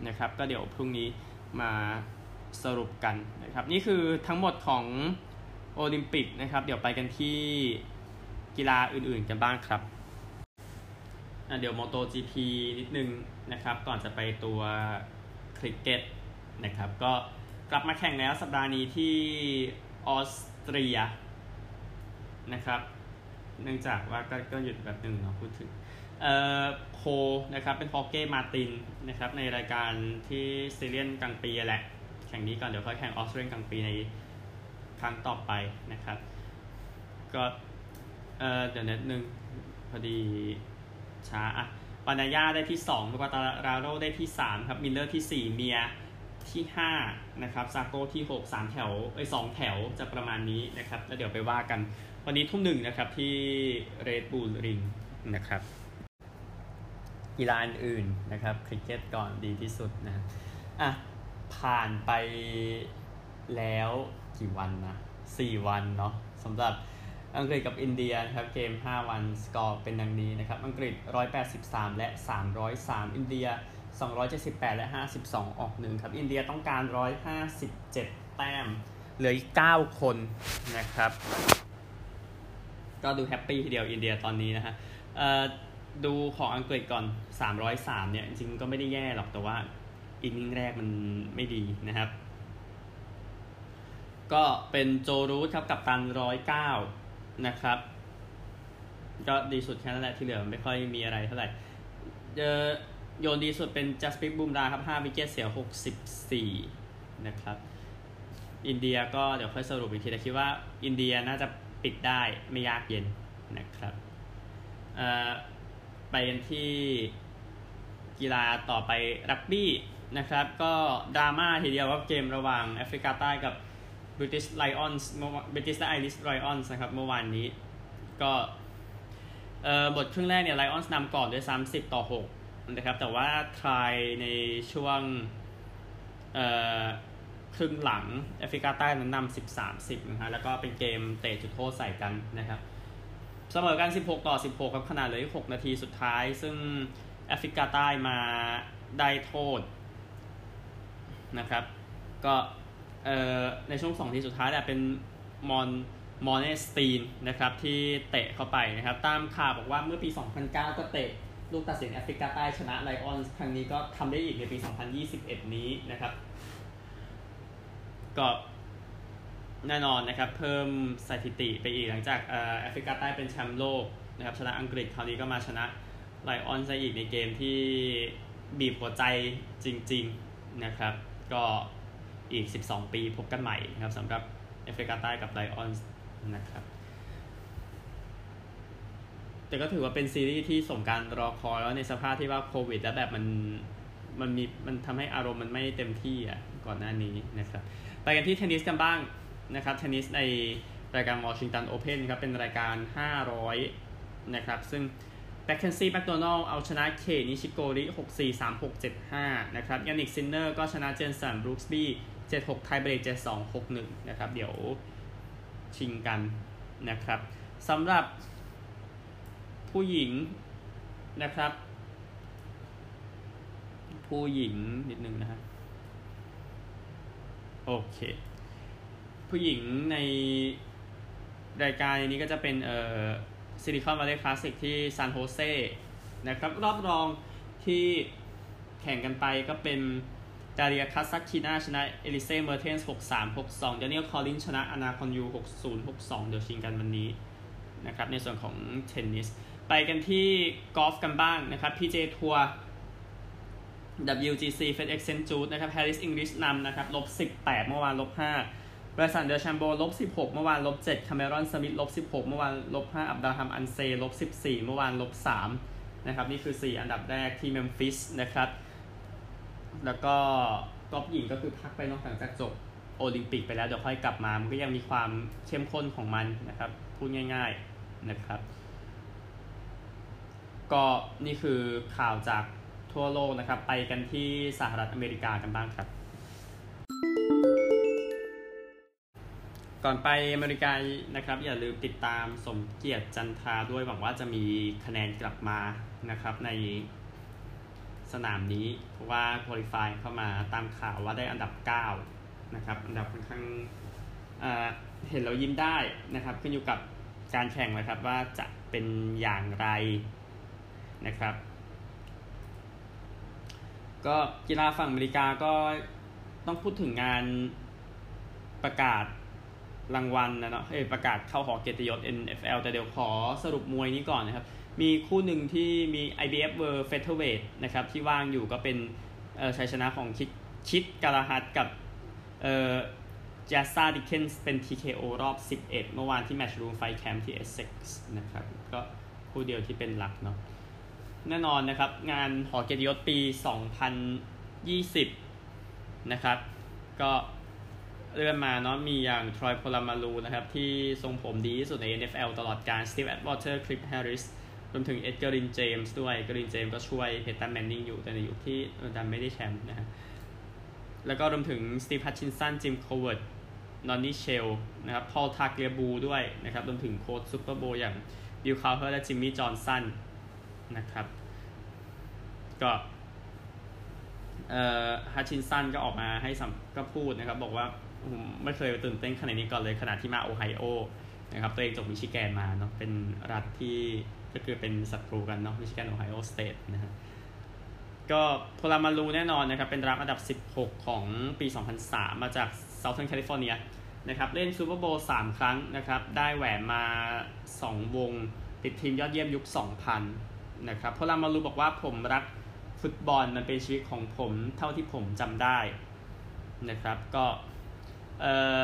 นะครับก็เดี๋ยวพรุ่งนี้มาสรุปกันนะครับนี่คือทั้งหมดของโอลิมปิกนะครับเดี๋ยวไปกันที่กีฬาอื่นๆกันบ้างครับเดี๋ยว MotoGP นิดนึงนะครับก่อนจะไปตัวคริกเก็ตนะครับก็กลับมาแข่งแล้วสัปดาห์นี้ที่ออสเตรียนะครับเนื่องจากว่าก็ก็หยุดแบบหนึ่งเนาะพูดถึงเอ่อโคนะครับเป็นฮอเก้มาตินนะครับในรายการที่ซีเรียนกลางปีแหละแข่งนี้ก่อนเดี๋ยวค่อยแข่งออสเตรียนกลางปีในครั้งต่อไปนะครับก็เอ่อเดี๋ยวนิดนึงพอดีช้าอ่ะปานาย่าได้ที่สองลูกาตาราโรได้ที่สามครับมิลเลอร์ที่สี่เมียที่ห้านะครับซาโก้ที่หก สามแถวเอ้ยสองแถวจะประมาณนี้นะครับแล้วเดี๋ยวไปว่ากันวันนี้ทุ่มหนึ่งนะครับที่เรดบูลริงนะครับกีฬาอื่นนะครับคริกเก็ตก่อนดีที่สุดนะอ่ะผ่านไปแล้วกี่วันนะสี่วันเนาะสำหรับอังกฤษกับอินเดียนะครับเกมห้าวันสกอร์เป็นดังนี้นะครับอังกฤษหนึ่งร้อยแปดสิบสามและสามร้อยสามอินเดียสองร้อยเจ็ดสิบแปดและห้าสิบสองออกหนึ่งครับอินเดียต้องการหนึ่งร้อยห้าสิบเจ็ดแต้มเหลืออีกเก้าคนนะครับก็ดูแฮปปี้ทีเดียวอินเดียตอนนี้นะฮะเอ่อดูของอังกฤษก่อนสามร้อยสามเนี่ยจริงๆก็ไม่ได้แย่หรอกแต่ว่าอินนิ่งแรกมันไม่ดีนะครับก็เป็นโจรูทครับกัปตันหนึ่งร้อยเก้านะครับก็ดีสุดแค่นั้นแหละที่เหลือไม่ค่อยมีอะไรเท่าไหร่โยนดีสุดเป็นจัสปิกบูมราครับห้าวิกเก็ตเสียหกสิบสี่นะครับอินเดียก็เดี๋ยวค่อยสรุปอีกทีแต่คิดว่าอินเดียน่าจะปิดได้ไม่ยากเย็นนะครับไปกันที่กีฬาต่อไปรักบี้นะครับก็ดราม่าทีเดียวว่าเกมระหว่างแอฟริกาใต้กับ British Lions British และ Irish Lions นะครับเมื่อวานนี้ก็เอ่อบทครึ่งแรกเนี่ย Lions นำก่อนด้วยสามสิบต่อหกนะครับแต่ว่าทรายในช่วงเอ่อครึ่งหลังแอฟริกาใต้นั้นนำสิบ สามสิบนะฮะแล้วก็เป็นเกมเตะจุดโทษใส่กันนะครับเสมอกันสิบหกต่อสิบหกครับขนาดเหลืออีกหกนาทีสุดท้ายซึ่งแอฟริกาใต้มาได้โทษนะครับก็เอ่อในช่วงสองนาทีสุดท้ายแหละเป็นมอนมอนเนสตีนนะครับที่เตะเข้าไปนะครับตามข่าวบอกว่าเมื่อปีสองพันเก้าก็เตะลูกตัดสินแอฟริกาใต้ชนะไลออนส์ครั้งนี้ก็ทำได้อีกในปีสองพันยี่สิบเอ็ดนี้นะครับก็แน่นอนนะครับเพิ่มสถิติไปอีกหลังจากแอฟริกาใต้เป็นแชมป์โลกนะครับชนะอังกฤษคราวนี้ก็มาชนะไลออนส์อีกในเกมที่บีบหัวใจจริงๆนะครับก็อีกสิบสองปีพบกันใหม่นะครับสำหรับแอฟริกาใต้กับไลออนส์นะครับแต่ก็ถือว่าเป็นซีรีส์ที่สมการรอคอยแล้วในสภาพที่ว่าโควิดแล้วแบบมันมันมีมันทำให้อารมณ์มันไม่เต็มที่อ่ะก่อนหน้านี้นะครับไปกันที่เทนนิสกันบ้างนะครับเทนนิสในรายการวอชิงตันโอเพ่นครับเป็นรายการห้าร้อยนะครับซึ่งแบ็คเคนซี่แบ็คโดนัลเอาชนะเคนิชิโกริ หกสี่ สามหก เจ็ดห้านะครับยานิกซินเนอร์ก็ชนะเจนสันบรูคส์บี้ เจ็ดหก ไทเบรก เจ็ดสอง หกหนึ่งนะครับเดี๋ยวชิงกันนะครับสำหรับผู้หญิงนะครับผู้หญิงนิดนึงนะฮะโอเคผู้หญิงในรายการนี้ก็จะเป็นเอ่อซิลิคอนวัลเลย์คลาสสิกที่ซานโฮเซนะครับรอบรองที่แข่งกันไปก็เป็นดาเรียคาซักคินาชนะเอลิเซ่เมอร์เทนส์ หกสาม หกสองเดนิเอลคอลลินชนะอนาคอนยู หกศูนย์ หกสองเดี๋ยวชิงกันวันนี้นะครับในส่วนของเทนนิสไปกันที่กอล์ฟกันบ้างนะครับ พี เจ ทัวร์ ดับเบิลยู จี ซี FedEx เซนต์ จูดนะครับ Harris English นำนะครับลบสิบแปดเมื่อวานลบห้าบริษัทเดอแชมโบลบสิบหกเมื่อวานลบเจ็ดคาเมรอนสมิธลบสิบหกเมื่อวานลบห้าอับดาฮัมอันเซลบสิบสี่เมื่อวานลบสามนะครับนี่คือสี่อันดับแรกที่เมมฟิสนะครับแล้วก็กอล์ฟหญิงก็คือพักไปนอกจากจบโอลิมปิกไปแล้วเดี๋ยวค่อยกลับมามันก็ยังมีความเข้มข้นของมันนะครับพูดง่ายๆนะครับก็นี่คือข่าวจากทั่วโลกนะครับไปกันที่สหรัฐอเมริกากันบ้างครับก่อนไปอเมริกานะครับอย่าลืมติดตามสมเกียรติจันทราด้วยหวังว่าจะมีคะแนนกลับมานะครับในสนามนี้เพราะว่าควอลิฟายเข้ามาตามข่าวว่าได้อันดับเก้านะครับอันดับค่อนข้างเอ่อเห็นแล้วยิ้มได้นะครับขึ้นอยู่กับการแข่งนะครับว่าจะเป็นอย่างไรนะครับก็กีฬาฝั่งอเมริกาก็ต้องพูดถึงงานประกาศรางวัลนะเนาะเออประกาศเข้าหอเกียรติยศ เอ็น เอฟ แอล แต่เดี๋ยวขอสรุปมวยนี้ก่อนนะครับมีคู่หนึ่งที่มี ไอ บี เอฟ World Featherweight นะครับที่ว่างอยู่ก็เป็นเอ่อชัยชนะของชิดชิดกาลาฮัดกับเอ่อแจสซาดิเคนส์เป็น ที เค โอ รอบสิบเอ็ดเมื่อวานที่ Matchroom Fight Camp ที่ Essex นะครับก็คู่เดียวที่เป็นหลักเนาะแน่นอนนะครับงานหอเกียรติยศปีสองพันยี่สิบนะครับก็เลื่อนมาเนาะมีอย่างทรอยโพลามารูนะครับที่ทรงผมดีที่สุดใน เอ็น เอฟ แอล ตลอดการสตีฟแอดวอเตอร์คลิฟแฮร์ริสรวมถึงเอ็ดการ์รินเจมส์ด้วยการ์รินเจมส์ก็ช่วยเพตตันแมนนิงอยู่แต่ในยุคที่ดันไม่ได้แชมป์นะฮะแล้วก็รวมถึงสตีฟฮัตชินสันจิมโคเวิร์ดนอนนี่เชลนะครับพอลทาเกลียบูด้วยนะครับรวมถึงโค้ชซูเปอร์โบว์อย่างบิลคาร์เฮอร์และจิมมี่จอห์นสันนะครับก็เอ่อฮัตชินสันก็ออกมาให้สัมก็พูดนะครับบอกว่าผมไม่เคยตื่นเต้นขนาดนี้ก่อนเลยขณะที่มาโอไฮโอนะครับตัวเองจบมิชิแกนมาเนาะเป็นรัฐที่ก็คือเป็นศัตรูกันเนาะมิชิแกนโอไฮโอสเตทนะฮะก็โพลามารูแน่นอนนะครับเป็นรับอันดับสิบหกของปีสองพันสามมาจากเซาเทิร์นแคลิฟอร์เนียนะครับเล่นซูเปอร์โบว์สามครั้งนะครับได้แหวนมาสองวงติดทีมยอดเยี่ยมยุคสองพันนะครับโพลามารูบอกว่าผมรักฟุตบอลมันเป็นชีวิตของผมเท่าที่ผมจำได้นะครับก็เอ่อ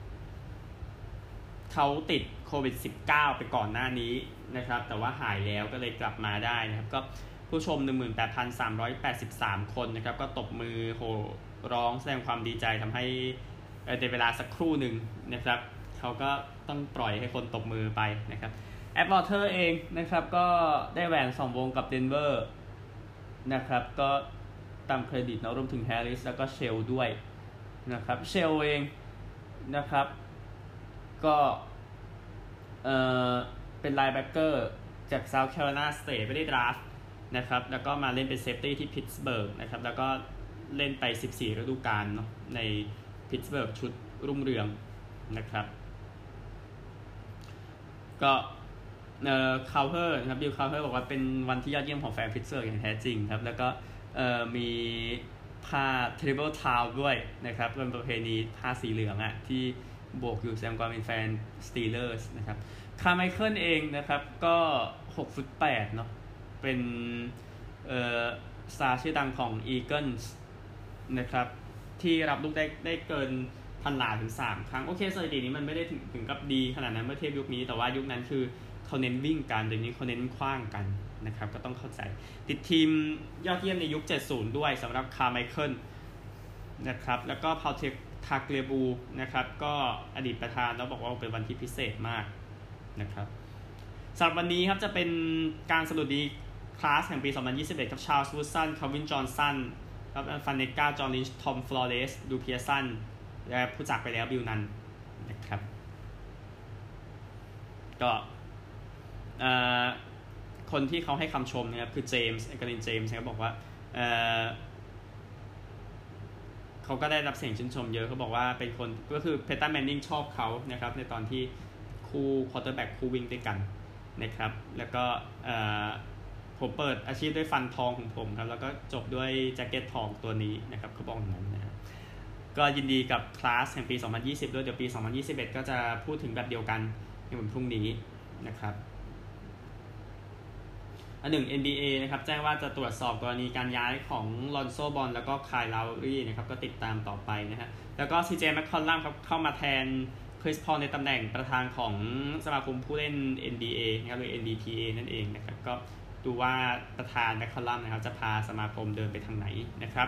เขาติดโควิด สิบเก้า ไปก่อนหน้านี้นะครับแต่ว่าหายแล้วก็เลยกลับมาได้นะครับก็ผู้ชม หนึ่งหมื่นแปดพันสามร้อยแปดสิบสาม คนนะครับก็ตบมือโห่ร้องแสดงความดีใจทำให้ในเวลาสักครู่หนึ่งนะครับเขาก็ต้องปล่อยให้คนตบมือไปนะครับแอดวอเตอร์เองนะครับก็ได้แหวนสองวงกับเดนเวอร์นะครับก็ตามเครดิตเนาะรวมถึงแฮร์ริสแล้วก็เชลด้วยนะครับเชลเองนะครับก็เอ่อเป็นไลน์แบ็คเกอร์จากเซาท์แคโรไลนาสเตทไม่ได้ดราฟต์นะครับแล้วก็มาเล่นเป็นเซฟตี้ที่พิตต์สเบิร์กนะครับแล้วก็เล่นไปสิบสี่ฤดูกาลเนาะในพิตต์สเบิร์กชุดรุ่งเรืองนะครับก็เอ่อคาวเฮอร์นะครับบิลคาวเฮอร์บอกว่าเป็นวันที่ยอดเยี่ยมของแฟนพิตต์สเบิร์กอย่างแท้จริงครับแล้วก็เอ่อมีผ้า Terrible Towel ด้วยนะครับเป็นประเพณีผ้าสีเหลืองอะที่โบกอยู่แสดงความเป็นแฟน Steelers นะครับคาร์ไมเคิลเองนะครับก็หกฟุตแปดเนาะเป็นเอ่อสตาร์ชื่อดังของ Eagles นะครับที่รับลูกได้ได้เกินพันหลาถึงสามครั้งโอเคสถิตินี้มันไม่ได้ถึงถึงกับดีขนาดนั้นเมื่อเทียบยุคนี้แต่ว่ายุคนั้นคือเขาเน้นวิ่งกันเดี๋ยวนี้เขาเน้นขว้างกันนะครับก็ต้องเข้าใจติดทีมยอดเยี่ยมในยุคเจ็ดสิบด้วยสำหรับคาร์ไมเคิลนะครับแล้วก็พาวเทคทาเกเลบูนะครับก็อดีตประธานแล้วบอกว่าเป็นวันที่พิเศษมากนะครับสำหรับวันนี้ครับจะเป็นการสรุปดีคลาสแห่งปีสองพันยี่สิบเอ็ดกับชาร์ลส์วูดสันคาร์วินจอห์นสันครับฟันเนก้าจอห์นลินช์ทอมฟลอเรสดูเพียสันและผู้จากไปแล้วบิลนันนะครับก็คนที่เขาให้คำชมนะครับคือเจมส์เอกลินเจมส์เขาบอกว่าเอ่อเขาก็ได้รับเสียงชื่นชมเยอะเขาบอกว่าเป็นคนก็คือเพตตันแมนนิงชอบเขานะครับในตอนที่คู่ควอเตอร์แบ็กคู่วิ่งด้วยกันนะครับแล้วก็เอ่อผมเปิดอาชีพด้วยฟันทองของผมครับแล้วก็จบด้วยแจ็คเก็ตทองตัวนี้นะครับเขาบอกอย่างนั้นนะก็ยินดีกับคลาสแห่งปีสองพันยี่สิบด้วยเดี๋ยวปีสองพันยี่สิบเอ็ดก็จะพูดถึงแบบเดียวกันในวันพรุ่งนี้นะครับอันหนึ่ง เอ็น บี เอ นะครับแจ้งว่าจะตรวจสอบกรณีการย้ายของลอนโซบอลแล้วก็คายลาวรี่นะครับก็ติดตามต่อไปนะฮะแล้วก็ ซี เจ แมคคอลลัมครับเข้ามาแทนคริสพอลในตำแหน่งประธานของสมาคมผู้เล่น เอ็น บี เอ นะครับหรือ เอ็น บี พี เอ นั่นเองนะครับก็ดูว่าประธานแมคคอลลัมนะครับจะพาสมาคมเดินไปทางไหนนะครับ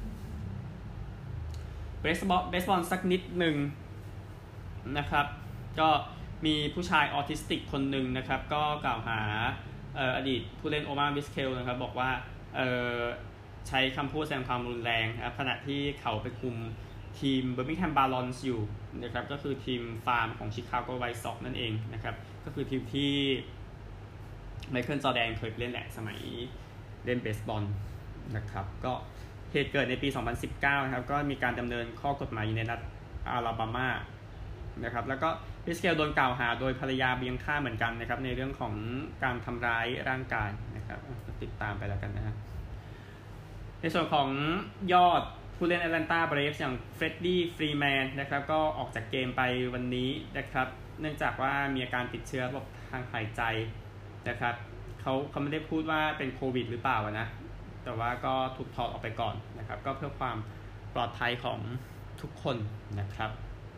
เบสบอลเบสบอลสักนิดหนึ่งนะครับก็มีผู้ชายออทิสติกคนหนึ่งนะครับก็กล่าวหาอดีตผู้เล่นโอมาร์บิสเคลนะครับบอกว่าใช้คำพูดแสดงความรุนแรงนะครับขณะที่เขาไปคุมทีมเบอร์มิงแฮมบาลอนส์อยู่นะครับก็คือทีมฟาร์มของชิคาโกไวท์ซ็อกซ์นั่นเองนะครับก็คือทีมที่ไมเคิลจอร์แดนเคยเล่นแหละสมัยเล่นเบสบอลนะครับก็เหตุเกิดในปีสองพันสิบเก้านะครับก็มีการดำเนินข้อกฎหมายอยู่ในรัฐอาลาบามานะครับแล้วก็พิสเคลโดนกล่าวหาโดยภรรยาเบียงค่าเหมือนกันนะครับในเรื่องของการทำร้ายร่างกายนะครับติดตามไปแล้วกันนะฮะในส่วนของยอดผู้เล่นแอตแลนตาเบรฟส์อย่างเฟรดดี้ฟรีแมนนะครับก็ออกจากเกมไปวันนี้นะครับเนื่องจากว่ามีอาการติดเชื้อระบบทางหายใจนะครับเขาเขาไม่ได้พูดว่าเป็นโควิดหรือเปล่านะแต่ว่าก็ถูกถอดออกไปก่อนนะครับก็เพื่อความปลอดภัยของทุกคนนะครับ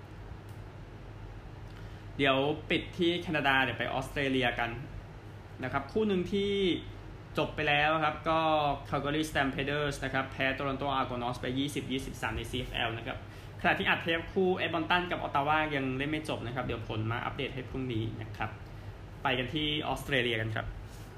เดี๋ยวปิดที่แคนาดาเดี๋ยวไปออสเตรเลียกันนะครับคู่หนึ่งที่จบไปแล้วครับก็ Calgary Stampeders นะครับแพ้ Toronto Argonauts ไป ยี่สิบ ยี่สิบสาม ใน ซี เอฟ แอล นะครับขณะที่อัดเทปคู่เอดมอนตันกับออตตาวายังเล่นไม่จบนะครับเดี๋ยวผลมาอัปเดตให้พรุ่งนี้นะครับไปกันที่ออสเตรเลียกันครับ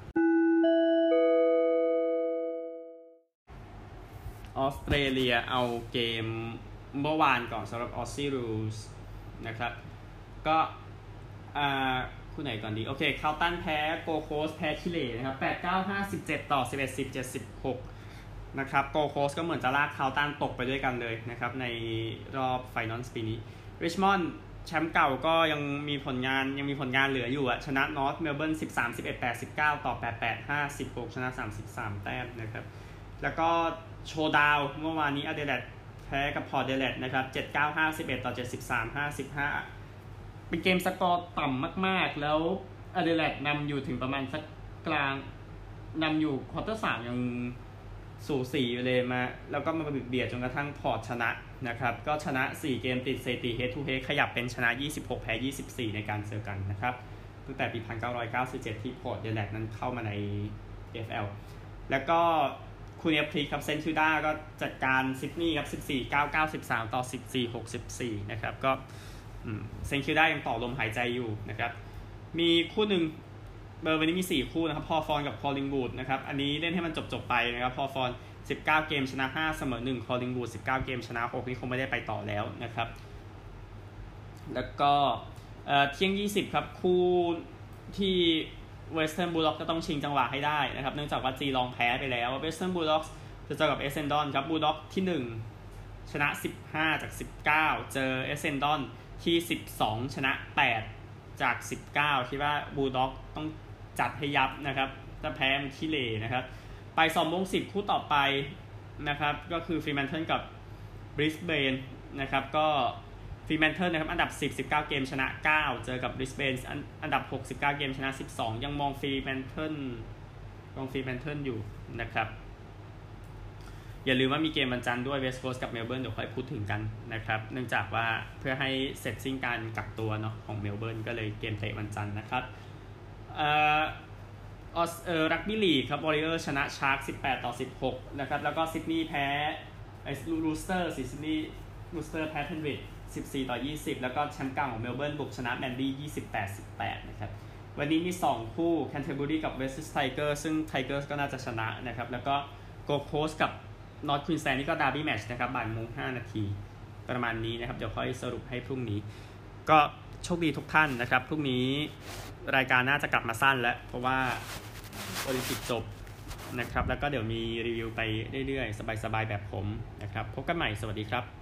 ออสเตรเลียเอาเกมเมื่อวานก่อนสำหรับ Aussie Rules นะครับก็อ่าคู่ไหนก่อนดีโอเคคาลตันแพ้โกโคสแพ้ชิเลนะครับแปด เก้า ห้า สิบเจ็ดต่อสิบเอ็ด สิบเจ็ด สิบหกนะครับโกโคสก็เหมือนจะลากคาลตันตกไปด้วยกันเลยนะครับในรอบไฟนอลปีนี้ริชมอนด์แชมป์เก่าก็ยังมีผลงานยังมีผลงานเหลืออยู่อะชนะนอร์ทเมลเบิร์นสิบสาม สิบเอ็ด แปด สิบเก้าต่อแปด แปด ห้า สิบหกชนะสามสิบสามแต้มนะครับแล้วก็โชว์ดาวเมื่อวานนี้อเดเลดแพ้กับพอร์ตเดเลดนะครับเจ็ด เก้า ห้า สิบเอ็ดต่อเจ็ดสิบสาม ห้า สิบห้าเป็นเกมสกอร์ต่ำมากๆแล้วอเดเลดนำอยู่ถึงประมาณสักกลางนำอยู่ควอเตอร์สามยังสูสีอยู่เลยมาแล้วก็มาเบียดจนกระทั่งพอร์ตชนะนะครับก็ชนะสี่เกมติดสถิติ head to head ขยับเป็นชนะยี่สิบหกแพ้ยี่สิบสี่ในการเจอกันนะครับตั้งแต่ปีหนึ่งพันเก้าร้อยเก้าสิบเจ็ดที่พอร์ตเดเลดนั้นเข้ามาใน เอฟ แอล แล้วก็คูเนียพลีครับเซนทูด้าก็จัดการซิดนีย์ครับสิบสี่ เก้า เก้า สิบสามต่อสิบสี่ หก สิบสี่นะครับก็เซนคิวด้ายังต่อลมหายใจอยู่นะครับมีคู่หนึ่งเบอร์วันนี้มีสี่คู่นะครับพอฟอนกับคอลลิงวูดนะครับอันนี้เล่นให้มันจบๆไปนะครับพอฟอนสิบเก้าเกมชนะห้าเสมอหนึ่งคอลลิงวูดสิบเก้าเกมชนะหกนี่คงไม่ได้ไปต่อแล้วนะครับแล้วก็เอ่อเที่ยงยี่สิบครับคู่ที่เวสเทิร์นบูลด็อกก็ต้องชิงจังหวะให้ได้นะครับเนื่องจากว่าจีลองแพ้ไปแล้วเวสเทิร์นบูลด็อกจะเจอกับเอเซนดอนครับบูลด็อกที่หนึ่งชนะสิบห้าจากสิบเก้าเจอเอเซนดอนที่สิบสองชนะแปดจากสิบเก้าคิดว่าบูลด็อกต้องจัดให้ยับนะครับถ้าแพ้มันขี้เหร่นะครับไปสองโมงสิบคู่ต่อไปนะครับก็คือฟรีแมนเทิลกับบริสเบนนะครับก็ฟรีแมนเทิลนะครับอันดับสิบ สิบเก้าเกมชนะเก้าเจอกับบริสเบนอันดับหก สิบเก้าเกมชนะสิบสองยังมองฟรีแมนเทิลมองฟรีแมนเทิลอยู่นะครับอย่าลืมว่ามีเกมวันจันทร์ด้วยเวสต์โคสต์กับเมลเบิร์นเดี๋ยวค่อยพูดถึงกันนะครับเนื่องจากว่าเพื่อให้เสร็จสิ้นการกักตัวเนาะของเมลเบิร์นก็เลยเกมเตะวันจันทร์นะครับเอ่อออสเอ่อรักบี้ลีกครับวอริเออร์ชนะชาร์กสิบแปดต่อสิบหกนะครับแล้วก็ซิดนีย์แพ้ไอ้รูสเตอร์ซิดนีย์รูสเตอร์แพ้เพนวิดสิบสี่ต่อยี่สิบแล้วก็แชมป์เก่าของเมลเบิร์นบุกชนะแมนดี้ยี่สิบแปด สิบแปดนะครับวันนี้มีสองคู่แคนเทอร์เบอรีกับเวสต์ไทเกอร์ซึ่งไทเกอร์ก็น่าจะชนะนะครับแล้วก็โกลด์โคสต์กับนอร์ทควีนสแลนด์นี่ก็ดาร์บี้แมตช์นะครับบ่ายโมงห้านาทีประมาณนี้นะครับเดี๋ยวค่อยสรุปให้พรุ่งนี้ก็โชคดีทุกท่านนะครับพรุ่งนี้รายการน่าจะกลับมาสั้นแล้วเพราะว่าโอลิมปิกจบนะครับแล้วก็เดี๋ยวมีรีวิวไปเรื่อยๆสบายๆแบบผมนะครับพบกันใหม่สวัสดีครับ